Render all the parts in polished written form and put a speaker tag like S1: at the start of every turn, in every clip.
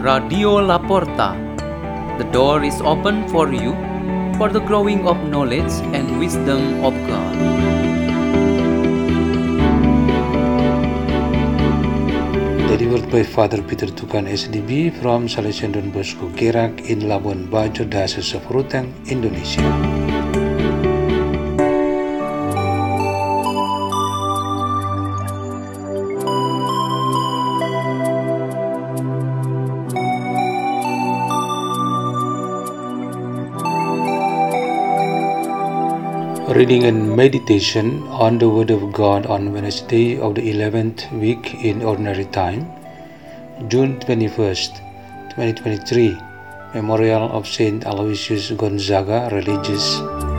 S1: Radio Laporta. The door is open for you for the growing of knowledge and wisdom of God.
S2: Delivered by Father Peter Tukan SDB from Salesian Don Bosco Gerak in Labuan Bajo, Diocese of Ruteng, Indonesia. Reading and meditation on the Word of God on Wednesday of the 11th week in Ordinary Time, June 21st, 2023, Memorial of Saint Aloysius Gonzaga, Religious.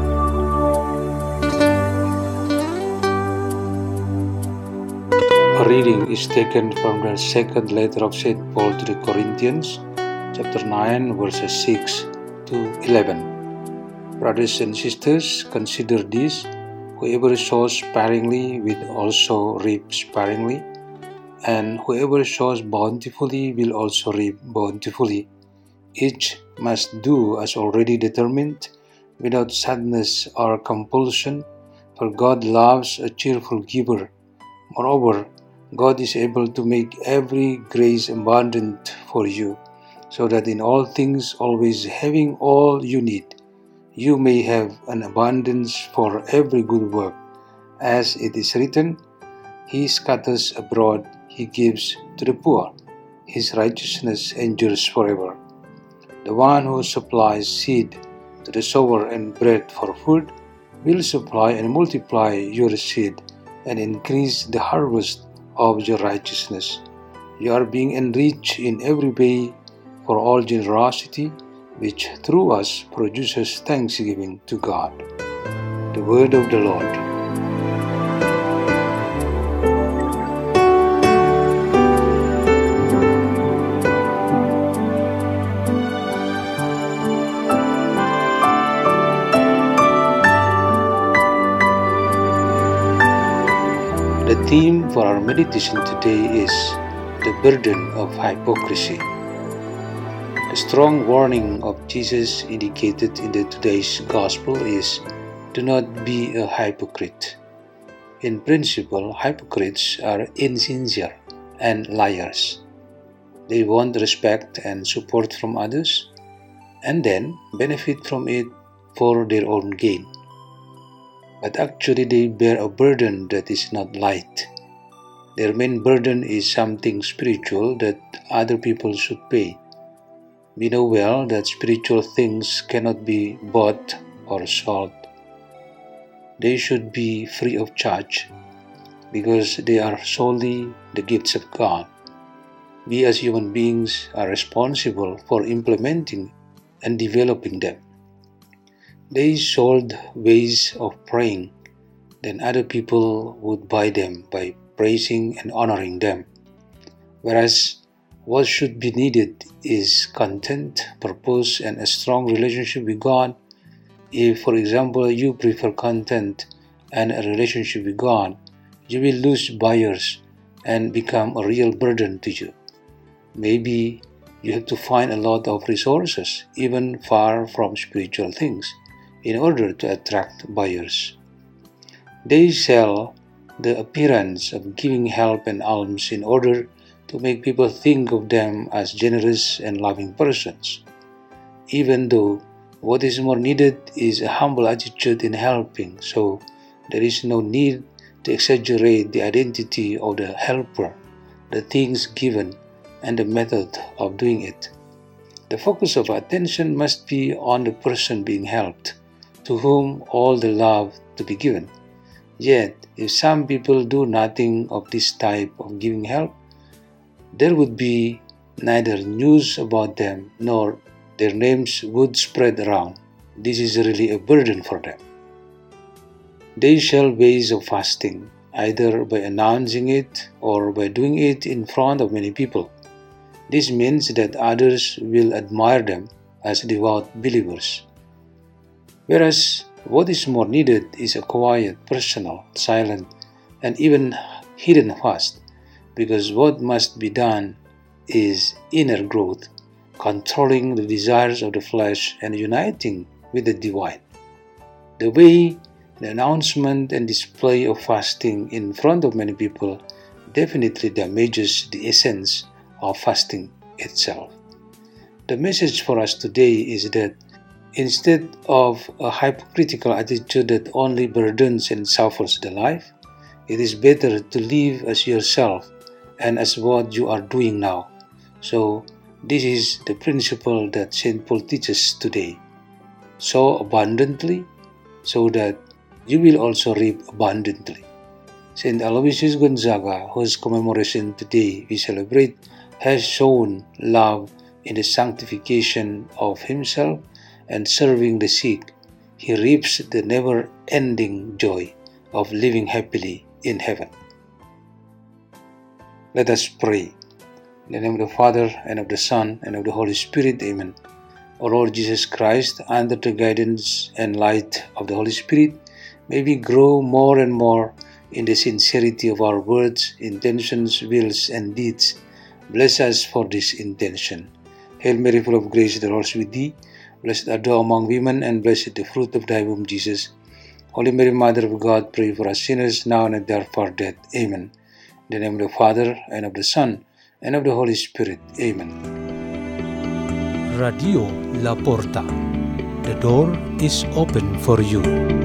S2: A reading is taken from the second letter of St. Paul to the Corinthians, chapter 9, verses 6 to 11. Brothers and sisters, consider this: whoever sows sparingly will also reap sparingly, and whoever sows bountifully will also reap bountifully. Each must do as already determined, without sadness or compulsion, for God loves a cheerful giver. Moreover, God is able to make every grace abundant for you, so that in all things, always having all you need, you may have an abundance for every good work. As it is written, He scatters abroad, He gives to the poor. His righteousness endures forever. The one who supplies seed to the sower and bread for food will supply and multiply your seed and increase the harvest of your righteousness. You are being enriched in every way for all generosity, which through us produces thanksgiving to God. The Word of the Lord. The theme for our meditation today is the burden of hypocrisy. The strong warning of Jesus indicated in today's Gospel is, do not be a hypocrite. In principle, hypocrites are insincere and liars. They want respect and support from others, and then benefit from it for their own gain. But actually they bear a burden that is not light. Their main burden is something spiritual that other people should pay. We know well that spiritual things cannot be bought or sold. They should be free of charge because they are solely the gifts of God. We as human beings are responsible for implementing and developing them. They sold ways of praying, then other people would buy them by praising and honoring them. Whereas what should be needed is content, purpose, and a strong relationship with God. If, for example, you prefer content and a relationship with God, you will lose buyers and become a real burden to you. Maybe you have to find a lot of resources, even far from spiritual things, in order to attract buyers. They sell the appearance of giving help and alms in order to make people think of them as generous and loving persons, even though what is more needed is a humble attitude in helping, so there is no need to exaggerate the identity of the helper, the things given, and the method of doing it. The focus of attention must be on the person being helped, to whom all the love to be given. Yet, if some people do nothing of this type of giving help, there would be neither news about them nor their names would spread around. This is really a burden for them. They shall ways of fasting, either by announcing it or by doing it in front of many people. This means that others will admire them as devout believers. Whereas what is more needed is a quiet, personal, silent, and even hidden fast, because what must be done is inner growth, controlling the desires of the flesh and uniting with the divine. The way the announcement and display of fasting in front of many people definitely damages the essence of fasting itself. The message for us today is that instead of a hypocritical attitude that only burdens and suffers the life, it is better to live as yourself and as what you are doing now. So, this is the principle that St. Paul teaches today. Sow abundantly, so that you will also reap abundantly. St. Aloysius Gonzaga, whose commemoration today we celebrate, has shown love in the sanctification of himself and serving the sick. He reaps the never-ending joy of living happily in heaven. Let us pray. In the name of the Father, and of the Son, and of the Holy Spirit. Amen. O Lord Jesus Christ, under the guidance and light of the Holy Spirit, may we grow more and more in the sincerity of our words, intentions, wills, and deeds. Bless us for this intention. Hail Mary, full of grace, the Lord is with thee. Blessed art thou among women, and blessed the fruit of thy womb, Jesus. Holy Mary, Mother of God, pray for us sinners, now and at the hour of our death. Amen. In the name of the Father, and of the Son, and of the Holy Spirit. Amen.
S3: Radio La Porta. The door is open for you.